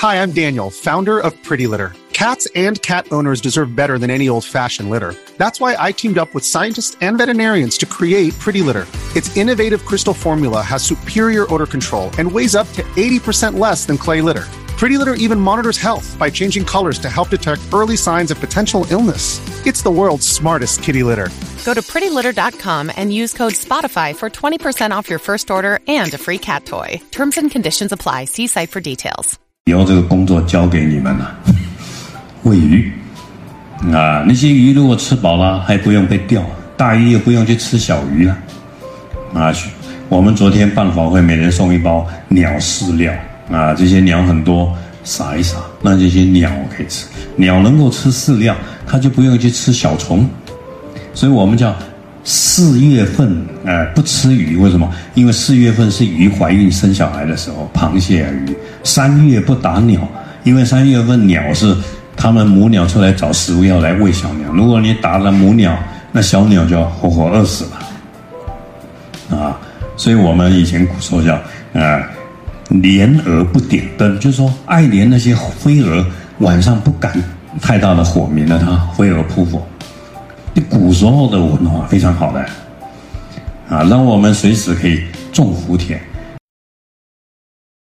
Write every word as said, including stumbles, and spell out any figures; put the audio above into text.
Hi, I'm Daniel, founder of Pretty Litter. Cats and cat owners deserve better than any old-fashioned litter. That's why I teamed up with scientists and veterinarians to create Pretty Litter. Its innovative crystal formula has superior odor control and weighs up to eighty percent less than clay litter. Pretty Litter even monitors health by changing colors to help detect early signs of potential illness. It's the world's smartest kitty litter. Go to pretty litter dot com and use code SPOTIFY for twenty percent off your first order and a free cat toy. Terms and conditions apply. See site for details. 以后这个工作交给你们了，喂鱼啊，那些鱼如果吃饱了，还不用被钓，大鱼也不用去吃小鱼了啊。我们昨天办法会，每人送一包鸟饲料啊，这些鸟很多，撒一撒，那这些鸟可以吃。鸟能够吃饲料，它就不用去吃小虫，所以我们叫四月份呃不吃鱼，为什么？因为四月份是鱼怀孕生小孩的时候，螃蟹啊鱼。三月不打鸟，因为三月份鸟是它们母鸟出来找食物要来喂小鸟，如果你打了母鸟，那小鸟就要活活饿死了啊。所以我们以前古时候叫呃怜蛾不点灯，就是说爱怜那些飞蛾晚上不敢太大的火，免得它飞蛾扑火。古时候的文化非常好的啊，让我们随时可以种福田。